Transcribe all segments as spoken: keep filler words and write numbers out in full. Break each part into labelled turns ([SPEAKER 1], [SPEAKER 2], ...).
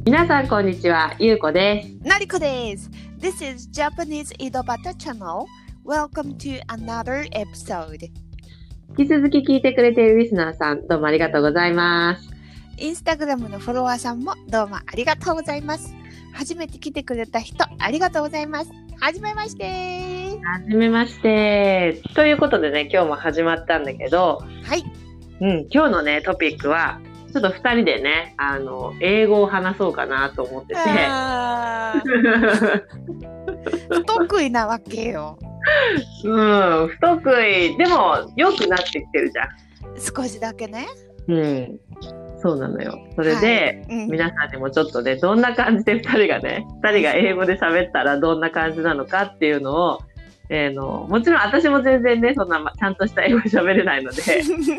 [SPEAKER 1] 皆さんこんにちは、ゆうこです。
[SPEAKER 2] なりこです。This is Japanese 井戸端 Channel. Welcome to another episode.
[SPEAKER 1] 引き続き聞いてくれているリスナーさん、どうもありがとうございます。
[SPEAKER 2] インスタグラムのフォロワーさんもどうもありがとうございます。初めて来てくれた人、ありがとうございます。はじめまして。
[SPEAKER 1] はじめまして。ということでね、今日も始まったんだけど、
[SPEAKER 2] はい。
[SPEAKER 1] うん、今日のね、トピックは、ちょっとふたりでね、あの、英語を話そうかなと思ってて。
[SPEAKER 2] 不得意なわけよ。
[SPEAKER 1] うん、不得意。でも、良くなってきてるじゃん。
[SPEAKER 2] 少しだけね。
[SPEAKER 1] うん。そうなのよ。それで、
[SPEAKER 2] はい、うん、
[SPEAKER 1] 皆さんにもちょっとね、どんな感じでふたりがね、ふたりが英語で喋ったらどんな感じなのかっていうのを、えー、のもちろん私も全然ね、そんなちゃんとした英語喋れないので、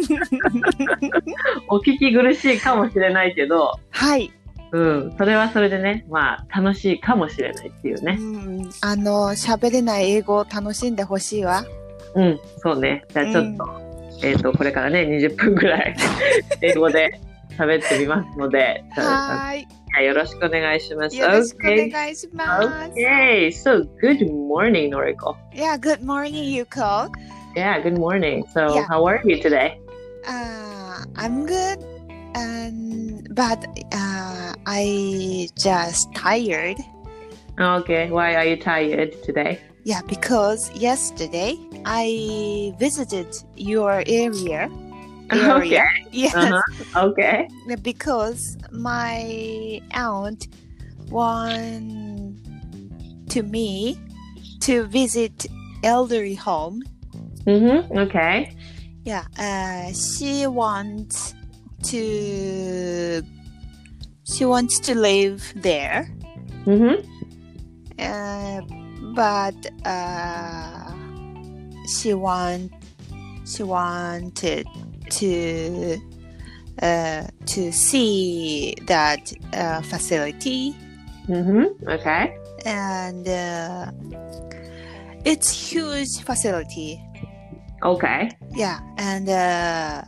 [SPEAKER 1] お聞き苦しいかもしれないけど、
[SPEAKER 2] はい。
[SPEAKER 1] うん、それはそれでね、まあ、楽しいかもしれないっていうね。
[SPEAKER 2] うん、あの、喋れない英語を楽しんでほしいわ。
[SPEAKER 1] うん、そうね。じゃあちょっと、うん、えっと、これからね、にじゅっぷんぐらい、英語で喋ってみますので、
[SPEAKER 2] はい。
[SPEAKER 1] よろしくお願いします。
[SPEAKER 2] よろしくお願いします。
[SPEAKER 1] Okay, so good morning, Noriko.
[SPEAKER 2] Yeah, good morning, Yuko.
[SPEAKER 1] Yeah, good morning. So,
[SPEAKER 2] yeah.
[SPEAKER 1] how are you today?
[SPEAKER 2] Uh, I'm good, um, but uh, I just tired.
[SPEAKER 1] Okay, why are you tired today?
[SPEAKER 2] Yeah, because yesterday I visited your area. Area.
[SPEAKER 1] Okay.
[SPEAKER 2] Yes.
[SPEAKER 1] Uh-huh. Okay.
[SPEAKER 2] Because my aunt want to me to visit elderly home.
[SPEAKER 1] Mm-hmm. Okay.
[SPEAKER 2] Yeah. Uh, she wants to. She wants to live there.
[SPEAKER 1] Mm-hmm.
[SPEAKER 2] Uh, but uh, she want. She wanted. to uh, to see that uh, facility.
[SPEAKER 1] Mm-hmm. Okay.
[SPEAKER 2] And uh, it's huge facility.
[SPEAKER 1] Okay.
[SPEAKER 2] Yeah. And uh,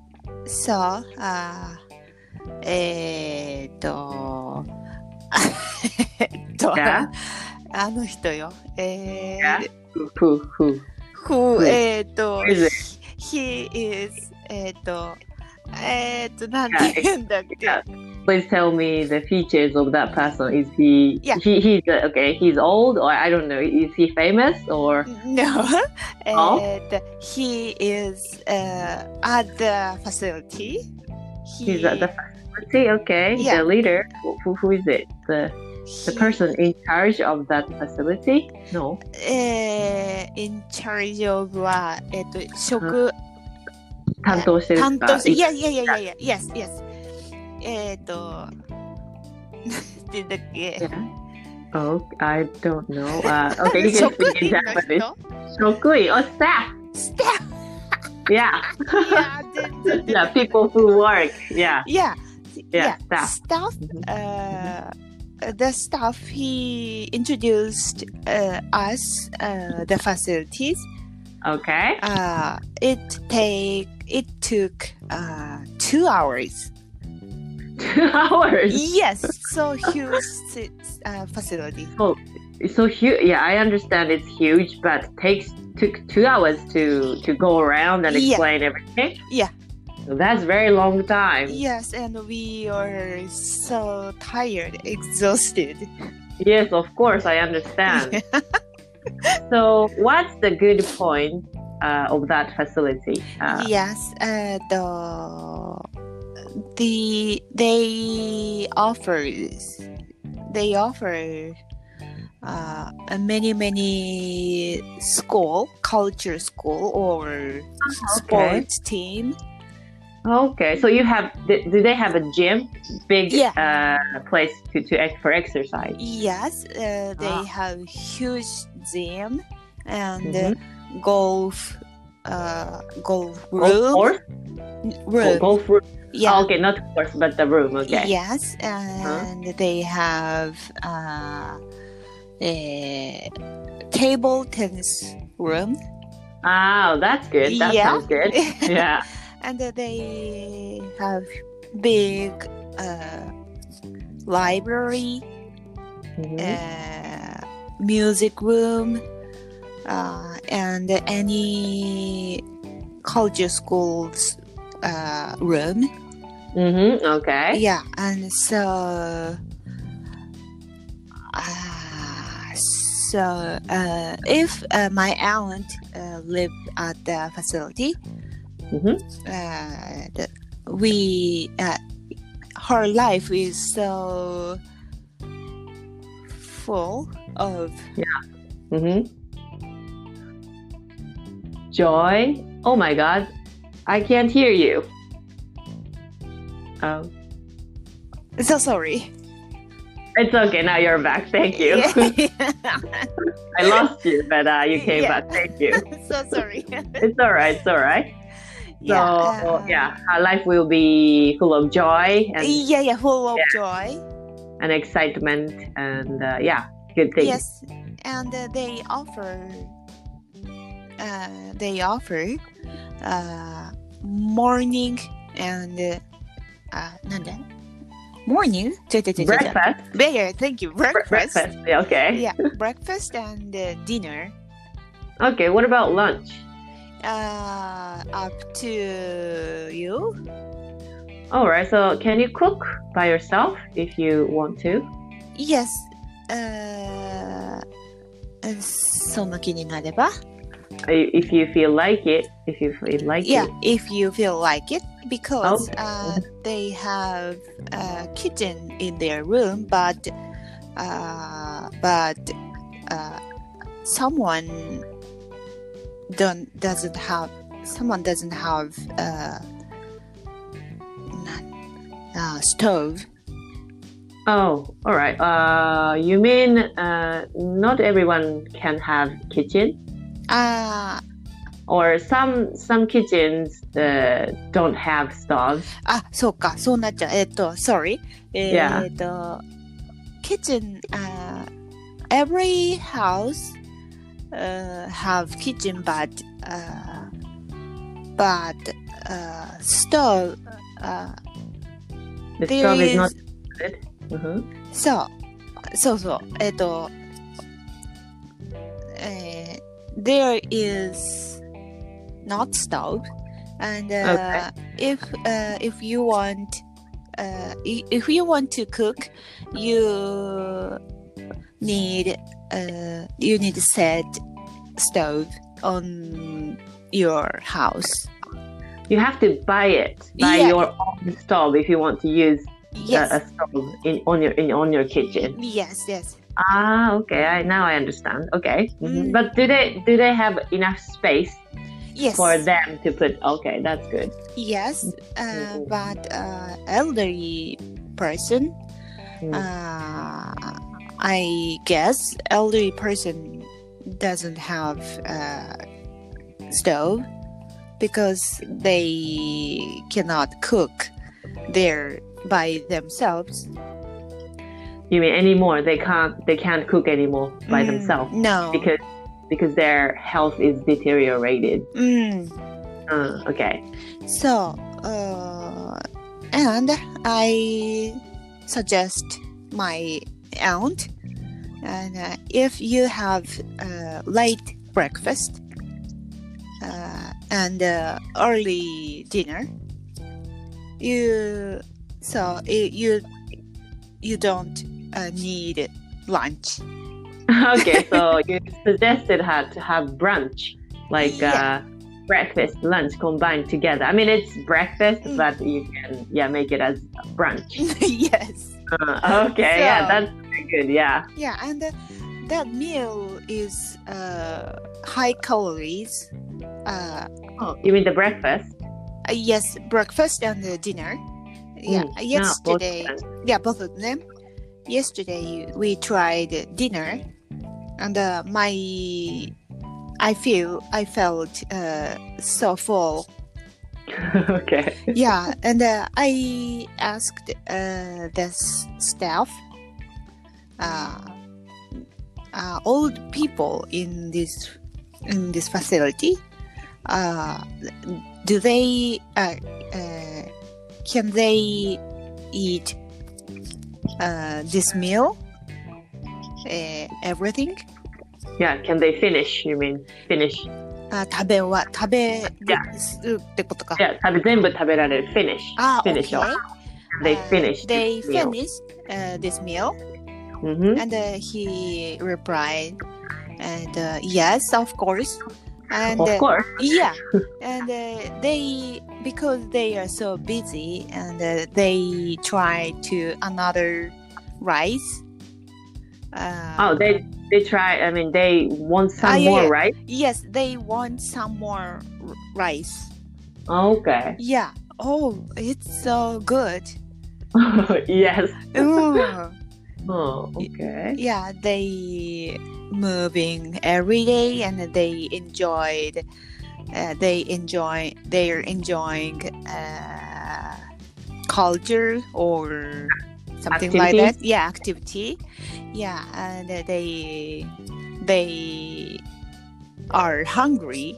[SPEAKER 2] so uh, えーっとえっと
[SPEAKER 1] Yeah.
[SPEAKER 2] あの人よ。えー
[SPEAKER 1] Yeah. Who? Who?
[SPEAKER 2] Who? えーっと
[SPEAKER 1] Who is it?
[SPEAKER 2] He is えっと、えっと、なんて言うんだっけ。
[SPEAKER 1] Yeah. Please tell me the features of that person. Is he,
[SPEAKER 2] yeah.
[SPEAKER 1] he, he's, uh, okay, he's old or I don't know, is he famous or?
[SPEAKER 2] No.
[SPEAKER 1] Oh?
[SPEAKER 2] And he is uh, at the facility.
[SPEAKER 1] He, he's at the facility, okay. Yeah. The leader, who, who is it? The, the person in charge of that facility? No.
[SPEAKER 2] えー、in charge of は、えっと、食、
[SPEAKER 1] 担当してる
[SPEAKER 2] 担当して、いやいやいやいやいや、yes, yes. えっと、なんて言うんだっけ。
[SPEAKER 1] Oh, I don't know. Uh, okay, you can speak in Japanese. 職員 or staff.
[SPEAKER 2] Staff.
[SPEAKER 1] Yeah.
[SPEAKER 2] yeah,
[SPEAKER 1] yeah, people who work. Yeah.
[SPEAKER 2] Yeah.
[SPEAKER 1] Yeah,
[SPEAKER 2] yeah.
[SPEAKER 1] staff.
[SPEAKER 2] Staff. Uh, the staff, he introduced uh, us uh, the facilities.
[SPEAKER 1] Okay.
[SPEAKER 2] Uh, it take it took uh, two hours.
[SPEAKER 1] Two hours.
[SPEAKER 2] Yes, so huge uh, facility.
[SPEAKER 1] So, so huge. Yeah, I understand it's huge, but takes took two hours to to go around and explain
[SPEAKER 2] yeah.
[SPEAKER 1] everything.
[SPEAKER 2] Yeah.
[SPEAKER 1] So that's very long time.
[SPEAKER 2] Yes, and we are so tired, exhausted.
[SPEAKER 1] Yes, of course, I understand. So, what's the good point uh, of that facility? Uh,
[SPEAKER 2] yes, uh, the the they offers they offer uh, many many school culture school or okay. sports team.
[SPEAKER 1] Okay, so you have do they have a gym, big
[SPEAKER 2] yeah.
[SPEAKER 1] uh, place to to for exercise?
[SPEAKER 2] Yes, uh, they ah. have huge gym and
[SPEAKER 1] mm-hmm.
[SPEAKER 2] uh, golf uh, golf room.
[SPEAKER 1] Golf course?
[SPEAKER 2] Room.
[SPEAKER 1] Oh, golf room.
[SPEAKER 2] Yeah.
[SPEAKER 1] Oh, okay, not course, but the room. Okay.
[SPEAKER 2] Yes, and huh? they have uh, a table tennis room.
[SPEAKER 1] Oh, that's good. That
[SPEAKER 2] yeah.
[SPEAKER 1] sounds good. Yeah.
[SPEAKER 2] And they have big uh, library,
[SPEAKER 1] Mhm.
[SPEAKER 2] uh, music room, uh, and any culture schools uh, room.
[SPEAKER 1] Mhm. Okay.
[SPEAKER 2] Yeah, and so uh, so uh, if uh, my aunt uh, lived at the facility,
[SPEAKER 1] Mhm.
[SPEAKER 2] uh, the, we uh, her life is so full of
[SPEAKER 1] Mhm. Joy. Oh my God, I can't hear you. Um,
[SPEAKER 2] so sorry.
[SPEAKER 1] it's okay. Now you're back. Thank you.
[SPEAKER 2] Yeah.
[SPEAKER 1] I lost you, but uh, you came
[SPEAKER 2] Yeah.
[SPEAKER 1] back. Thank you.
[SPEAKER 2] So sorry.
[SPEAKER 1] It's all right. It's all right. So
[SPEAKER 2] yeah, uh,
[SPEAKER 1] yeah, our life will be full of joy and,
[SPEAKER 2] yeah, yeah, full of
[SPEAKER 1] Yeah.
[SPEAKER 2] joy.
[SPEAKER 1] and excitement and uh, yeah, good things.
[SPEAKER 2] Yes, and uh, they offer, uh, they offer uh, morning and uh, uh, なんだ morning? 違う違う違う違う
[SPEAKER 1] Breakfast.
[SPEAKER 2] Yeah, thank you.
[SPEAKER 1] Bre-
[SPEAKER 2] Breakfast.
[SPEAKER 1] Breakfast. Yeah, okay.
[SPEAKER 2] Yeah, breakfast and uh, dinner.
[SPEAKER 1] Okay. What about lunch?
[SPEAKER 2] Uh, up to you.
[SPEAKER 1] All right. So can you cook by yourself if you want to?
[SPEAKER 2] Yes. Uh, その気になれば
[SPEAKER 1] I- If you feel like it. If you feel like
[SPEAKER 2] Yeah,
[SPEAKER 1] it.
[SPEAKER 2] if you feel like it, because
[SPEAKER 1] Oh.
[SPEAKER 2] uh, they have a kitchen in their room, but uh, but uh, someone don't doesn't have someone doesn't have uh, uh, stove.
[SPEAKER 1] Oh, all right. Uh, you mean uh, not everyone can have kitchen,
[SPEAKER 2] Uh,
[SPEAKER 1] or some some kitchens uh, don't have stoves.
[SPEAKER 2] あ、そうか、そうなっちゃう。えっと、sorry. え
[SPEAKER 1] Yeah.
[SPEAKER 2] っと、kitchen, uh, every house uh, have kitchen, but, uh, but, uh, stove, uh,
[SPEAKER 1] The
[SPEAKER 2] there
[SPEAKER 1] stove is
[SPEAKER 2] is,
[SPEAKER 1] not good. Mhm.
[SPEAKER 2] そう、そうそう、えっと、えー there is not stove, and uh, if uh, if you want uh, i- if you want to cook, you need uh, you need to set stove on your house.
[SPEAKER 1] You have to buy it, buy
[SPEAKER 2] Yeah.
[SPEAKER 1] your own stove if you want to use
[SPEAKER 2] Yes,
[SPEAKER 1] a, a stove in on your in on your kitchen.
[SPEAKER 2] yes, yes.
[SPEAKER 1] Ah, okay. I, now I understand. Okay. Mhm.
[SPEAKER 2] Mm.
[SPEAKER 1] But do they do they have enough space
[SPEAKER 2] Yes,
[SPEAKER 1] for them to put? Okay, that's good.
[SPEAKER 2] yes. Uh,
[SPEAKER 1] Mhm.
[SPEAKER 2] but uh, elderly person.
[SPEAKER 1] Mm.
[SPEAKER 2] Uh, I guess elderly person doesn't have a stove because they cannot cook there by themselves.
[SPEAKER 1] You mean anymore? They can't they can't cook anymore by
[SPEAKER 2] Mm,
[SPEAKER 1] themselves
[SPEAKER 2] No.
[SPEAKER 1] because because their health is deteriorated.
[SPEAKER 2] Mm.
[SPEAKER 1] Uh, okay.
[SPEAKER 2] So, uh, and I suggest my aunt, and uh, if you have uh, late breakfast uh, and uh, early dinner, you so i- you you don't uh, need lunch.
[SPEAKER 1] Okay, so you suggested her to have brunch, like
[SPEAKER 2] Yeah.
[SPEAKER 1] uh, breakfast, lunch combined together. I mean, it's breakfast,
[SPEAKER 2] Mm.
[SPEAKER 1] but you can yeah make it as brunch.
[SPEAKER 2] Yes.
[SPEAKER 1] Uh, okay, yeah,
[SPEAKER 2] So-
[SPEAKER 1] that's very good. Yeah.
[SPEAKER 2] Yeah, and uh, that meal is uh, high calories. Uh,
[SPEAKER 1] Oh, you mean the breakfast?
[SPEAKER 2] uh, yes, breakfast and uh, dinner. Yeah,
[SPEAKER 1] Mm,
[SPEAKER 2] yesterday.
[SPEAKER 1] Yeah, both
[SPEAKER 2] Yeah, both of them. Yesterday we tried dinner, and uh, my I feel I felt uh, so full.
[SPEAKER 1] okay.
[SPEAKER 2] Yeah, and uh, I asked uh, the s- staff, uh, uh, old people in this in this facility, uh, do they uh, uh, can they eat uh, this meal, uh, everything.
[SPEAKER 1] Yeah, can they finish? You mean finish?
[SPEAKER 2] あ、食べは食べる
[SPEAKER 1] Yeah.
[SPEAKER 2] すってことか。
[SPEAKER 1] Yeah, 食べ全部食べられる finish.
[SPEAKER 2] あ、
[SPEAKER 1] finish.
[SPEAKER 2] okay.
[SPEAKER 1] They
[SPEAKER 2] Uh,
[SPEAKER 1] finished
[SPEAKER 2] they
[SPEAKER 1] this meal.
[SPEAKER 2] finished uh, this meal,
[SPEAKER 1] Mm-hmm.
[SPEAKER 2] and uh, he replied, and uh, yes, of course. And
[SPEAKER 1] Of
[SPEAKER 2] uh,
[SPEAKER 1] course.
[SPEAKER 2] yeah, and uh, they because they are so busy, and uh, they try to another rice. Uh,
[SPEAKER 1] Oh, they they try. I mean, they want some
[SPEAKER 2] Ah, yeah,
[SPEAKER 1] more,
[SPEAKER 2] yeah.
[SPEAKER 1] right?
[SPEAKER 2] yes, they want some more r- rice.
[SPEAKER 1] Okay.
[SPEAKER 2] Yeah. Oh, it's so good.
[SPEAKER 1] Yes.
[SPEAKER 2] Ooh.
[SPEAKER 1] Oh, okay.
[SPEAKER 2] Yeah, they moving every day, and they enjoyed. Uh, they enjoy. They're enjoying uh, culture or something like that.
[SPEAKER 1] Activities?
[SPEAKER 2] Yeah, activity. Yeah, and uh, they they are hungry.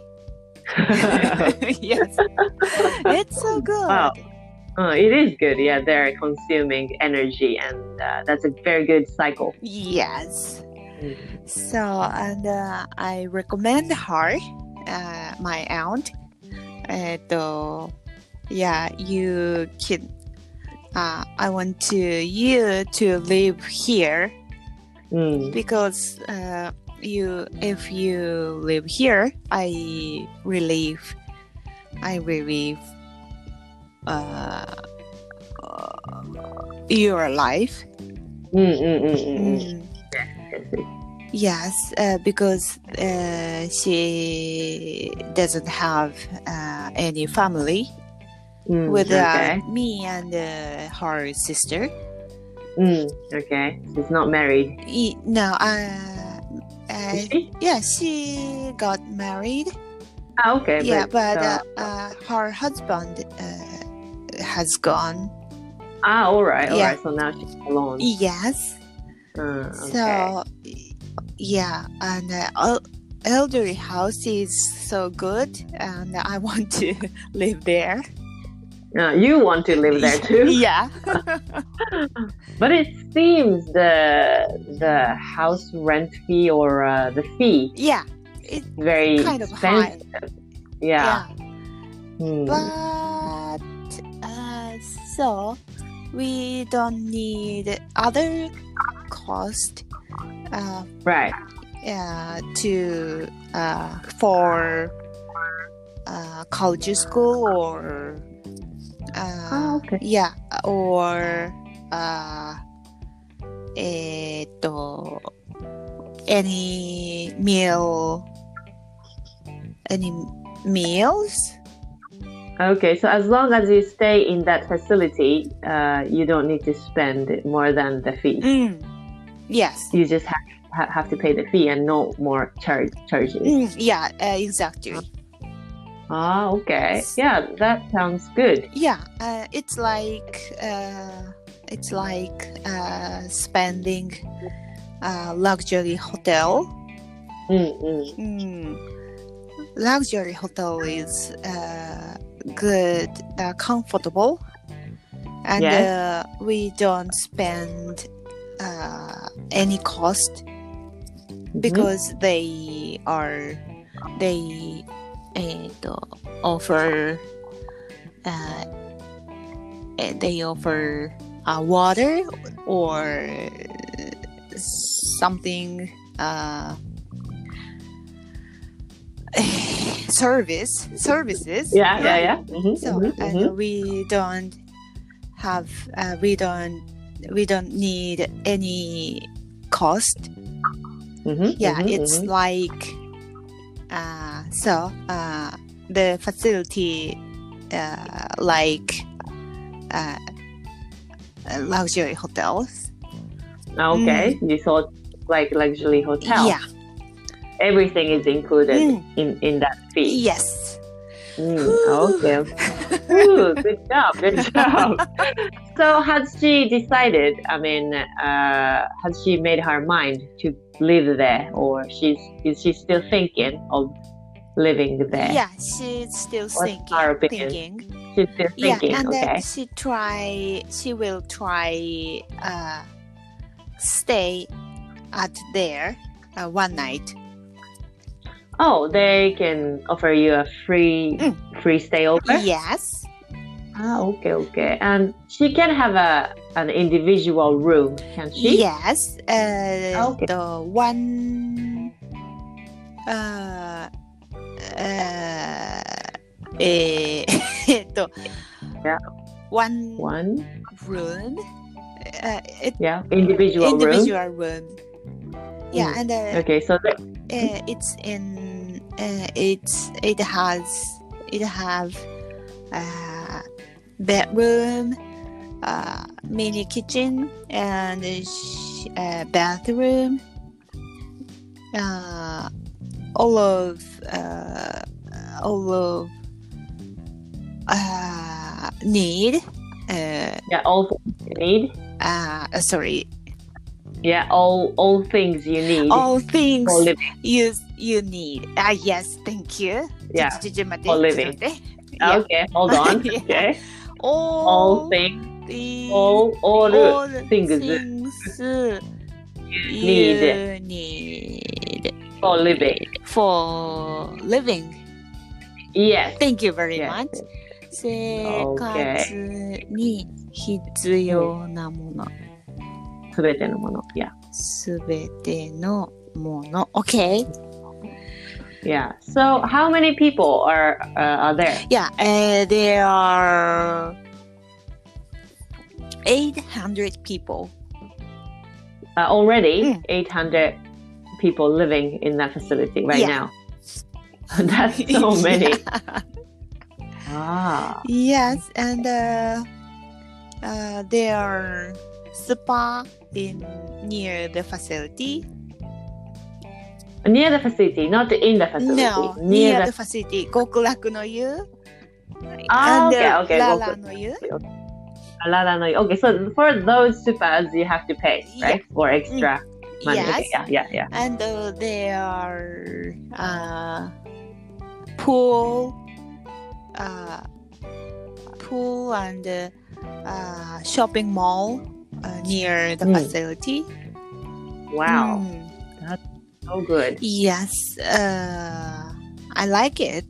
[SPEAKER 2] Yes, it's so good.
[SPEAKER 1] Wow. Oh, it is good. Yeah, they're consuming energy, and uh, that's a very good cycle.
[SPEAKER 2] Yes.
[SPEAKER 1] Mm.
[SPEAKER 2] So, and uh, I recommend her, uh, my aunt. えっと、yeah, you can. Uh, I want to you to live here
[SPEAKER 1] Mm.
[SPEAKER 2] because uh, you, if you live here, I relieve, I relieve uh, uh, your life.
[SPEAKER 1] Mm, mm, mm, mm, mm.
[SPEAKER 2] Mm.
[SPEAKER 1] Yes, yes.
[SPEAKER 2] Yes, uh, because uh, she doesn't have uh, any family
[SPEAKER 1] Mm,
[SPEAKER 2] with uh,
[SPEAKER 1] okay.
[SPEAKER 2] me and uh, her sister.
[SPEAKER 1] Mm, okay. She's not married.
[SPEAKER 2] E- no, uh, uh,
[SPEAKER 1] Is she?
[SPEAKER 2] yeah, she got married.
[SPEAKER 1] Ah, okay.
[SPEAKER 2] Yeah,
[SPEAKER 1] but,
[SPEAKER 2] but
[SPEAKER 1] uh,
[SPEAKER 2] uh, uh, her husband uh, has gone.
[SPEAKER 1] ah, all right, all
[SPEAKER 2] yeah.
[SPEAKER 1] right. So now she's alone.
[SPEAKER 2] Yes.
[SPEAKER 1] Uh, okay.
[SPEAKER 2] So, yeah, and uh, el- elderly house is so good, and I want to live there.
[SPEAKER 1] Uh, you want to live there too?
[SPEAKER 2] Yeah.
[SPEAKER 1] But it seems the the house rent fee or uh, the fee
[SPEAKER 2] Yeah. It's
[SPEAKER 1] very
[SPEAKER 2] kind of high.
[SPEAKER 1] expensive. Yeah. Hmm.
[SPEAKER 2] But uh, so we don't need other cost uh,
[SPEAKER 1] Right.
[SPEAKER 2] uh, to uh, for uh, culture school or uh,
[SPEAKER 1] Ah, okay.
[SPEAKER 2] yeah, or uh, えーっと any meal any meals.
[SPEAKER 1] Okay. So as long as you stay in that facility, uh, you don't need to spend more than the fee.
[SPEAKER 2] Mm. Yes.
[SPEAKER 1] You just have ha- have to pay the fee and no more charge charges.
[SPEAKER 2] Mm, yeah, uh, exactly.
[SPEAKER 1] Ah, okay. Yeah, that sounds good.
[SPEAKER 2] Yeah, uh, it's like uh, it's like uh, spending uh, luxury hotel.
[SPEAKER 1] Mm-mm.
[SPEAKER 2] Mm. Luxury hotel is uh, good, uh, comfortable, and
[SPEAKER 1] Yes.
[SPEAKER 2] uh, we don't spend uh, any cost because they are they uh, offer uh, eh, they offer uh, water or something uh, service services.
[SPEAKER 1] Yeah, yeah, yeah. Mhm,
[SPEAKER 2] So
[SPEAKER 1] mhm,
[SPEAKER 2] and
[SPEAKER 1] mhm.
[SPEAKER 2] we don't have uh, we don't we don't need any cost.
[SPEAKER 1] Mhm,
[SPEAKER 2] Yeah,
[SPEAKER 1] mhm,
[SPEAKER 2] it's
[SPEAKER 1] mhm.
[SPEAKER 2] like uh, so uh, the facility uh, like uh, luxury hotels.
[SPEAKER 1] Okay. You thought like luxury hotel.
[SPEAKER 2] Yeah.
[SPEAKER 1] Everything is included
[SPEAKER 2] Mm.
[SPEAKER 1] in, in that fee.
[SPEAKER 2] Yes.
[SPEAKER 1] Mm, okay. Ooh, good job. Good job. So has she decided, I mean, uh, has she made her mind to live there, or she's is she still thinking of living there?
[SPEAKER 2] Yeah, she's still
[SPEAKER 1] What's
[SPEAKER 2] thinking.
[SPEAKER 1] our opinion?
[SPEAKER 2] thinking.
[SPEAKER 1] she's still
[SPEAKER 2] Yeah,
[SPEAKER 1] thinking.
[SPEAKER 2] and
[SPEAKER 1] Okay.
[SPEAKER 2] uh, she try. She will try uh, stay at there uh, one night.
[SPEAKER 1] Oh, they can offer you a free
[SPEAKER 2] Mm.
[SPEAKER 1] free stay over.
[SPEAKER 2] Yes.
[SPEAKER 1] Ah, okay, okay. And she can have a an individual room, can she?
[SPEAKER 2] Yes. Uh,
[SPEAKER 1] Okay.
[SPEAKER 2] The one. Uh, uh, えーえっと
[SPEAKER 1] Yeah.
[SPEAKER 2] one
[SPEAKER 1] One.
[SPEAKER 2] room. Uh, it,
[SPEAKER 1] Yeah. Individual,
[SPEAKER 2] individual room. Yeah,
[SPEAKER 1] Mm.
[SPEAKER 2] and uh,
[SPEAKER 1] room. Okay, so the,
[SPEAKER 2] uh, it's in. Uh, it's it has it have uh, bedroom, uh, mini kitchen, and a sh- uh, bathroom. Uh, all of uh, all of uh, need. Uh,
[SPEAKER 1] yeah, all things you need.
[SPEAKER 2] uh, sorry,
[SPEAKER 1] Yeah, all all things you need
[SPEAKER 2] all things
[SPEAKER 1] for living.
[SPEAKER 2] you you need. Ah, yes, thank you.
[SPEAKER 1] Yeah,
[SPEAKER 2] ちょちょちょ待って
[SPEAKER 1] for living.
[SPEAKER 2] ちょっと待って Yeah.
[SPEAKER 1] Okay, hold on.
[SPEAKER 2] Yeah.
[SPEAKER 1] Okay.
[SPEAKER 2] All,
[SPEAKER 1] All things,
[SPEAKER 2] the-
[SPEAKER 1] all all
[SPEAKER 2] all
[SPEAKER 1] things
[SPEAKER 2] things
[SPEAKER 1] need
[SPEAKER 2] you need
[SPEAKER 1] for living.
[SPEAKER 2] for living.
[SPEAKER 1] Yes.
[SPEAKER 2] Thank you very
[SPEAKER 1] Yes.
[SPEAKER 2] much. 生活に必要なもの。
[SPEAKER 1] すべてのもの。Yeah.
[SPEAKER 2] すべてのもの。Okay.
[SPEAKER 1] Yeah. So, how many people are uh, are there?
[SPEAKER 2] Yeah, uh, there are eight hundred people.
[SPEAKER 1] Uh, already,
[SPEAKER 2] Mm.
[SPEAKER 1] eight hundred people living in that facility right
[SPEAKER 2] Yeah.
[SPEAKER 1] now. That's so many.
[SPEAKER 2] Yeah.
[SPEAKER 1] Ah.
[SPEAKER 2] Yes, and uh, uh, there are spa in near the facility.
[SPEAKER 1] Near the facility, not in the facility.
[SPEAKER 2] No, near the facility. 極楽の湯
[SPEAKER 1] Ah,
[SPEAKER 2] and
[SPEAKER 1] okay, okay.
[SPEAKER 2] ララの湯
[SPEAKER 1] Alala no. Okay, so for those spas, you have to pay,
[SPEAKER 2] Yeah.
[SPEAKER 1] right? For extra money.
[SPEAKER 2] Yes,
[SPEAKER 1] Okay, yeah, yeah, yeah.
[SPEAKER 2] and uh, there are uh, pool, uh, pool and uh, uh, shopping mall uh, near the
[SPEAKER 1] Mm.
[SPEAKER 2] facility.
[SPEAKER 1] Wow,
[SPEAKER 2] Mm.
[SPEAKER 1] so good.
[SPEAKER 2] Yes, uh, I like it.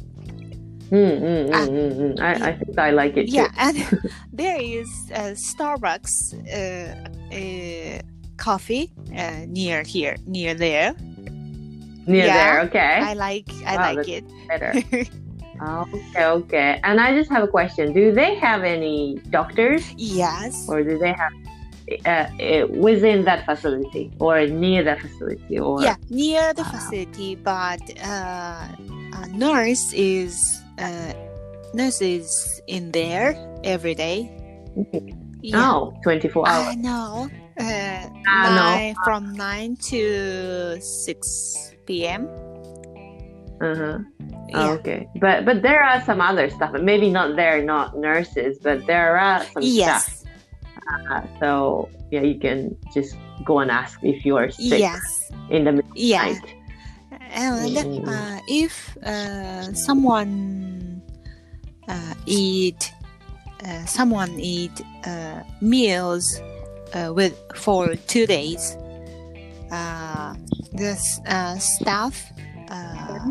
[SPEAKER 1] Mm, mm, mm,
[SPEAKER 2] Ah.
[SPEAKER 1] mm, mm. I, I think I like it
[SPEAKER 2] Yeah,
[SPEAKER 1] too.
[SPEAKER 2] and there is a Starbucks uh, uh, coffee uh, near here, near there.
[SPEAKER 1] Near
[SPEAKER 2] Yeah,
[SPEAKER 1] there, okay.
[SPEAKER 2] I like, I
[SPEAKER 1] Wow,
[SPEAKER 2] like
[SPEAKER 1] that's
[SPEAKER 2] it.
[SPEAKER 1] better. Okay, okay. And I just have a question. Do they have any doctors
[SPEAKER 2] Yes.
[SPEAKER 1] or do they have uh, uh, within that facility or near that facility or
[SPEAKER 2] Yeah, near the
[SPEAKER 1] Wow.
[SPEAKER 2] facility, but uh, a nurse is uh, nurse is in there every day.
[SPEAKER 1] Okay.
[SPEAKER 2] Yeah,
[SPEAKER 1] Oh, twenty-four hours.
[SPEAKER 2] I know. Uh,
[SPEAKER 1] Ah, no.
[SPEAKER 2] nine, from nine to six p m.
[SPEAKER 1] Uh-huh.
[SPEAKER 2] Yeah.
[SPEAKER 1] Oh, okay. But but there are some other stuff. Maybe not they're not nurses, but there are some stuff.
[SPEAKER 2] Yes.
[SPEAKER 1] Uh, so yeah, you can just go and ask if you are sick
[SPEAKER 2] Yes.
[SPEAKER 1] in the middle of the
[SPEAKER 2] Yeah.
[SPEAKER 1] night.
[SPEAKER 2] And
[SPEAKER 1] Mm.
[SPEAKER 2] uh, if uh, someone uh, eat uh, someone eat uh, meals uh, with for two days, uh, the s- uh, staff uh,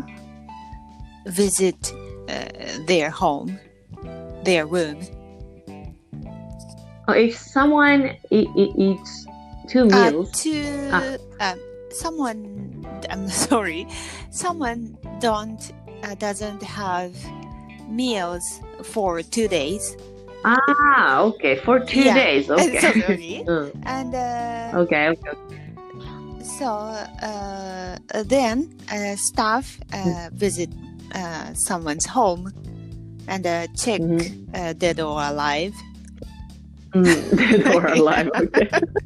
[SPEAKER 2] visit uh, their home, their room.
[SPEAKER 1] Oh, if someone e- e- eats two
[SPEAKER 2] Uh,
[SPEAKER 1] meals,
[SPEAKER 2] to
[SPEAKER 1] Ah.
[SPEAKER 2] uh, someone, I'm sorry, someone don't uh, doesn't have meals for two days,
[SPEAKER 1] ah, okay, for two
[SPEAKER 2] Yeah.
[SPEAKER 1] days,
[SPEAKER 2] so
[SPEAKER 1] okay.
[SPEAKER 2] sorry,
[SPEAKER 1] Mm,
[SPEAKER 2] and uh,
[SPEAKER 1] okay, okay.
[SPEAKER 2] so uh, then uh, staff uh, visit uh, someone's home and uh, check
[SPEAKER 1] Mhm.
[SPEAKER 2] uh, dead or alive.
[SPEAKER 1] Mm, dead or alive, okay.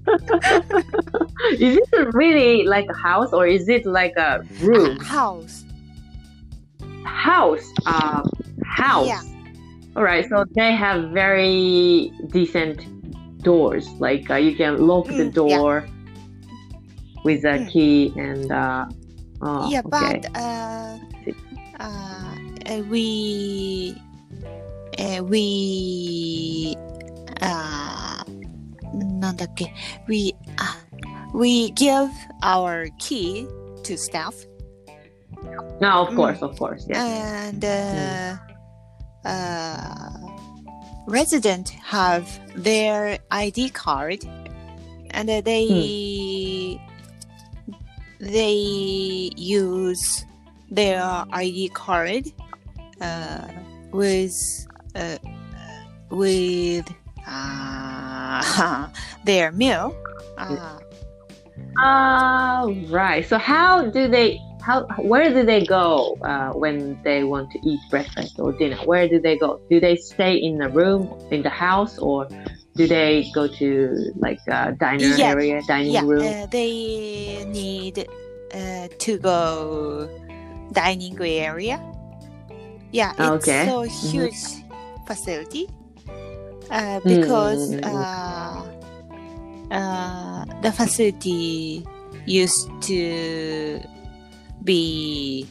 [SPEAKER 1] Is it really like a house or is it like a room?
[SPEAKER 2] Uh, house.
[SPEAKER 1] House, uh, house.
[SPEAKER 2] Yeah.
[SPEAKER 1] All right, so they have very decent doors. Like uh, you can lock the
[SPEAKER 2] Mm, yeah.
[SPEAKER 1] door with a
[SPEAKER 2] Mm.
[SPEAKER 1] key, and uh, oh,
[SPEAKER 2] Yeah,
[SPEAKER 1] okay.
[SPEAKER 2] but uh, uh, uh, we uh, we あーなんだっけ we あ we give our key to staff.
[SPEAKER 1] No, of
[SPEAKER 2] Mm.
[SPEAKER 1] course, of course, yes.
[SPEAKER 2] And uh, uh, resident have their I D card, and uh, they they use their I D card uh, with uh, with uh, their meal. Uh,
[SPEAKER 1] Ah, right. So how do they? How where do they go uh, when they want to eat breakfast or dinner? Where do they go? Do they stay in the room in the house, or do they go to like a diner
[SPEAKER 2] Yeah.
[SPEAKER 1] area, dining
[SPEAKER 2] yeah,
[SPEAKER 1] room?
[SPEAKER 2] uh, they need uh, to go dining area. Yeah, it's
[SPEAKER 1] Okay.
[SPEAKER 2] so huge facility uh, because
[SPEAKER 1] Mm.
[SPEAKER 2] uh, uh, the facility used to be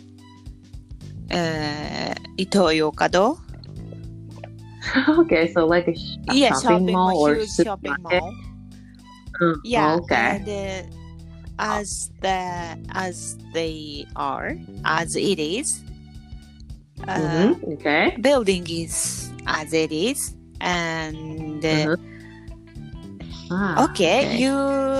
[SPEAKER 2] uh, Ito-Yokado.
[SPEAKER 1] Okay, so like a, sh- a
[SPEAKER 2] Yeah,
[SPEAKER 1] shopping,
[SPEAKER 2] shopping
[SPEAKER 1] mall
[SPEAKER 2] mall,
[SPEAKER 1] or
[SPEAKER 2] huge shopping
[SPEAKER 1] supermarket?
[SPEAKER 2] mall.
[SPEAKER 1] Mm,
[SPEAKER 2] Yeah,
[SPEAKER 1] okay.
[SPEAKER 2] and uh, as the as they are, as it is, uh,
[SPEAKER 1] Mm-hmm. Okay.
[SPEAKER 2] building is as it is, and uh,
[SPEAKER 1] Uh-huh. Ah,
[SPEAKER 2] okay, you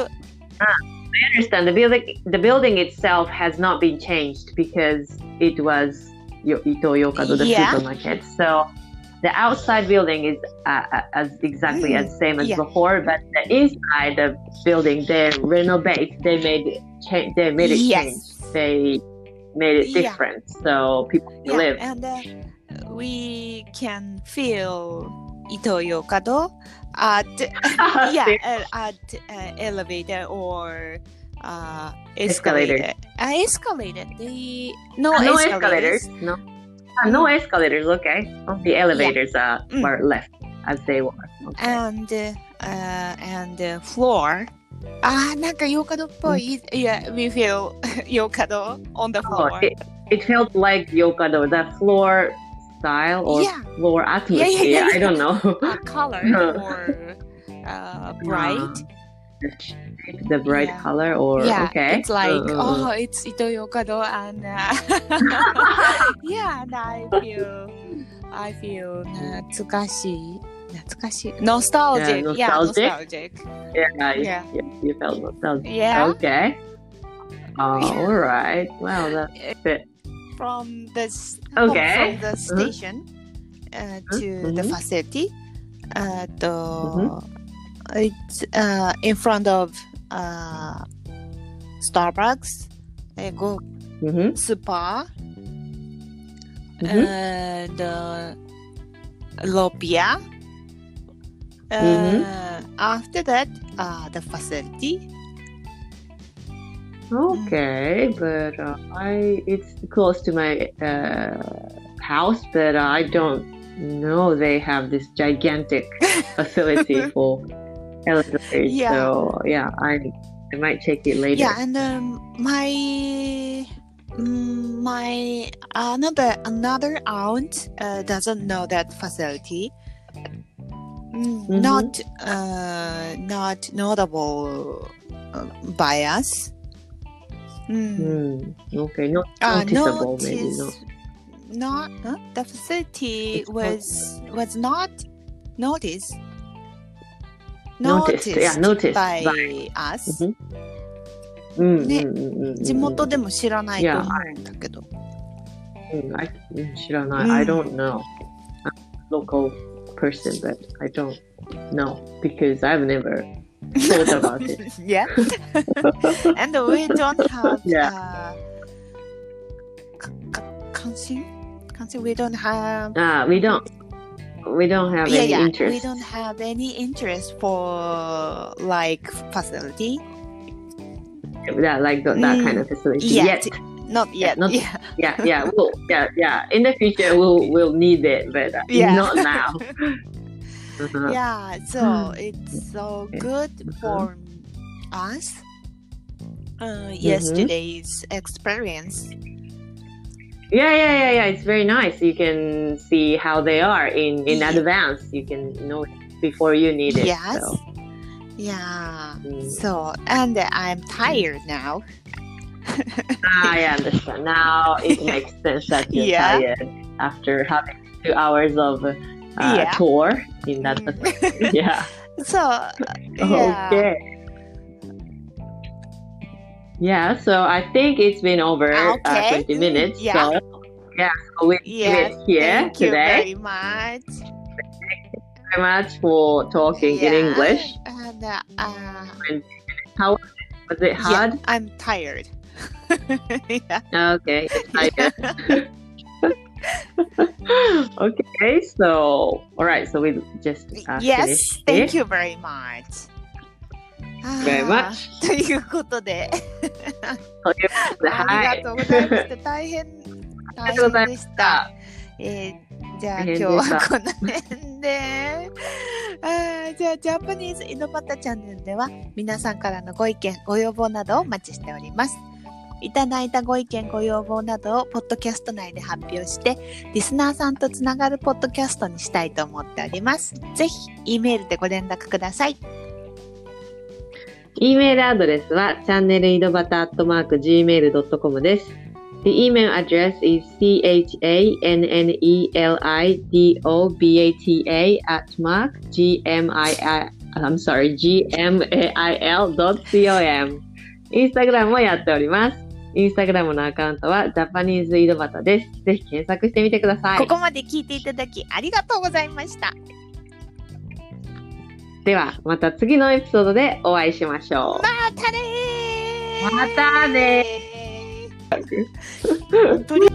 [SPEAKER 1] I understand. The building, the building itself has not been changed because it was Yo- Ito-Yokado, the
[SPEAKER 2] Yeah.
[SPEAKER 1] supermarket. So the outside building is uh, uh, as exactly
[SPEAKER 2] Mm,
[SPEAKER 1] as same as
[SPEAKER 2] yeah.
[SPEAKER 1] before, but the inside the building they renovate. They made it change. They made it
[SPEAKER 2] Yes.
[SPEAKER 1] change. They made it
[SPEAKER 2] Yeah.
[SPEAKER 1] different, so people can
[SPEAKER 2] yeah,
[SPEAKER 1] live.
[SPEAKER 2] and uh, we can feel Ito-Yokado at yeah uh, at uh, elevator or uh, escalator.
[SPEAKER 1] Escalator.
[SPEAKER 2] Uh, escalator. They no,
[SPEAKER 1] no
[SPEAKER 2] escalators.
[SPEAKER 1] escalators. No. Ah, no escalators. Okay. Only elevators uh,
[SPEAKER 2] Mm.
[SPEAKER 1] were left as they were. Okay.
[SPEAKER 2] And uh, uh, and uh, floor. あーなんかヨーカドっぽい。Yeah, we feel ヨーカド on the
[SPEAKER 1] Oh,
[SPEAKER 2] floor.
[SPEAKER 1] it, it felt like Yokado, the floor style or
[SPEAKER 2] Yeah.
[SPEAKER 1] floor atmosphere.
[SPEAKER 2] Yeah, yeah, yeah,
[SPEAKER 1] I don't know.
[SPEAKER 2] A color or uh, bright.
[SPEAKER 1] the, shape, the bright
[SPEAKER 2] Yeah.
[SPEAKER 1] color or
[SPEAKER 2] Yeah,
[SPEAKER 1] okay.
[SPEAKER 2] it's like
[SPEAKER 1] Uh, uh,
[SPEAKER 2] oh, it's Ito-Yokado, and uh, yeah, and I feel I feel 懐かしい懐かしい nostalgic.
[SPEAKER 1] Yeah,
[SPEAKER 2] Yeah,
[SPEAKER 1] nostalgic.
[SPEAKER 2] nostalgic.
[SPEAKER 1] yeah, you-
[SPEAKER 2] Yeah.
[SPEAKER 1] you, you felt nostalgic.
[SPEAKER 2] Yeah.
[SPEAKER 1] Okay. Oh, all right. Well, that's a bit.
[SPEAKER 2] From the s-
[SPEAKER 1] Okay.
[SPEAKER 2] from the station uh, to the
[SPEAKER 1] Mhm.
[SPEAKER 2] facility. Uh, the, It's uh, in front of uh, Starbucks, uh, go
[SPEAKER 1] Mm-hmm.
[SPEAKER 2] Spa,
[SPEAKER 1] Mhm.
[SPEAKER 2] and uh, Lopia. Uh,
[SPEAKER 1] Mhm.
[SPEAKER 2] After that, uh, the facility.
[SPEAKER 1] Okay, but uh, I it's close to my uh, house, but I don't know they have this gigantic facility for elevators.
[SPEAKER 2] Yeah.
[SPEAKER 1] So yeah, I I might check it later.
[SPEAKER 2] Yeah, and um, my mm, my another another aunt uh, doesn't know that facility. Mm,
[SPEAKER 1] Mhm.
[SPEAKER 2] Not uh, not notable uh, by us. Mm.
[SPEAKER 1] Hmm. Okay, not
[SPEAKER 2] Uh,
[SPEAKER 1] noticeable, maybe
[SPEAKER 2] notice,
[SPEAKER 1] not.
[SPEAKER 2] not huh? The facility
[SPEAKER 1] It's not-
[SPEAKER 2] was was not noticed.
[SPEAKER 1] Noticed, yeah, noticed
[SPEAKER 2] by,
[SPEAKER 1] by-
[SPEAKER 2] us.
[SPEAKER 1] Mhm. Mm,
[SPEAKER 2] Ne-
[SPEAKER 1] mm, mm, mm,
[SPEAKER 2] 地
[SPEAKER 1] mm,
[SPEAKER 2] 元でも知らないと
[SPEAKER 1] Yeah,
[SPEAKER 2] 思うんだけど。
[SPEAKER 1] mm, I, mm, 知らない
[SPEAKER 2] Mm.
[SPEAKER 1] I don't know. I'm a local person, but I don't know because I've never thought about it.
[SPEAKER 2] Yeah. And we don't have
[SPEAKER 1] Yeah.
[SPEAKER 2] uh, k- k- kansin? Kansin, we don't have
[SPEAKER 1] Ah, we don't. We don't have
[SPEAKER 2] yeah,
[SPEAKER 1] any
[SPEAKER 2] yeah.
[SPEAKER 1] interest.
[SPEAKER 2] We don't have any interest for like facility.
[SPEAKER 1] that like the, that
[SPEAKER 2] Mm,
[SPEAKER 1] kind of facility
[SPEAKER 2] yet.
[SPEAKER 1] yet.
[SPEAKER 2] Not yet.
[SPEAKER 1] not-
[SPEAKER 2] yeah.
[SPEAKER 1] Yeah, yeah, we'll, yeah, yeah. In the future, we'll we'll need it, but uh,
[SPEAKER 2] Yeah.
[SPEAKER 1] not now. Uh-huh.
[SPEAKER 2] Yeah, so it's so good for us. Uh, yesterday's experience.
[SPEAKER 1] Yeah, yeah, yeah, yeah. It's very nice. You can see how they are in, in
[SPEAKER 2] Yeah.
[SPEAKER 1] advance. You can know it before you need it.
[SPEAKER 2] Yes.
[SPEAKER 1] So.
[SPEAKER 2] Yeah.
[SPEAKER 1] Mm.
[SPEAKER 2] So, and I'm tired now.
[SPEAKER 1] I understand. Now it makes sense that you're
[SPEAKER 2] Yeah.
[SPEAKER 1] tired after having two hours of uh,
[SPEAKER 2] Yeah.
[SPEAKER 1] tour in that
[SPEAKER 2] Mm.
[SPEAKER 1] facility. Yeah.
[SPEAKER 2] So, yeah.
[SPEAKER 1] Okay. Yeah, so I think it's been over uh,
[SPEAKER 2] Okay.
[SPEAKER 1] twenty minutes.
[SPEAKER 2] Mm, yeah.
[SPEAKER 1] So, yeah, so we
[SPEAKER 2] Yes.
[SPEAKER 1] leave it here
[SPEAKER 2] Thank you
[SPEAKER 1] today.
[SPEAKER 2] very much.
[SPEAKER 1] Very much for talking in
[SPEAKER 2] Yeah.
[SPEAKER 1] English.
[SPEAKER 2] And uh, uh,
[SPEAKER 1] How was it
[SPEAKER 2] yeah,
[SPEAKER 1] hard?
[SPEAKER 2] I'm tired. Yeah.
[SPEAKER 1] Okay. excited. Okay, so all right, so we just uh,
[SPEAKER 2] Yes,
[SPEAKER 1] finished
[SPEAKER 2] thank
[SPEAKER 1] it.
[SPEAKER 2] you very much.
[SPEAKER 1] Very
[SPEAKER 2] あ
[SPEAKER 1] much.
[SPEAKER 2] ーということで、
[SPEAKER 1] ということで
[SPEAKER 2] ありがとうございました。大変、大変でした。えーじゃあ今日
[SPEAKER 1] 大変でした
[SPEAKER 2] はこの辺で。あーじゃあジャパニーズ井戸端チャンネルでは皆さんからのご意見、ご要望などをお待ちしております。いただいたご意見、ご要望などをポッドキャスト内で発表してリスナーさんとつながるポッドキャストにしたいと思っております。ぜひ E メールでご連絡ください。
[SPEAKER 1] E メールアドレスはチャンネル井戸端アットマーク ジーメールドットコム です。The email address is chanelidobata at mark gmail I'm sorry gmail dot com。インスタグラムもやっております。インスタグラムのアカウントはジャパニーズ井戸端です。ぜひ検索してみてください。
[SPEAKER 2] ここまで聞いていただきありがとうございました。
[SPEAKER 1] ではまた次のエピソードでお会いしましょう。
[SPEAKER 2] またねー。
[SPEAKER 1] またね
[SPEAKER 2] ー。本当に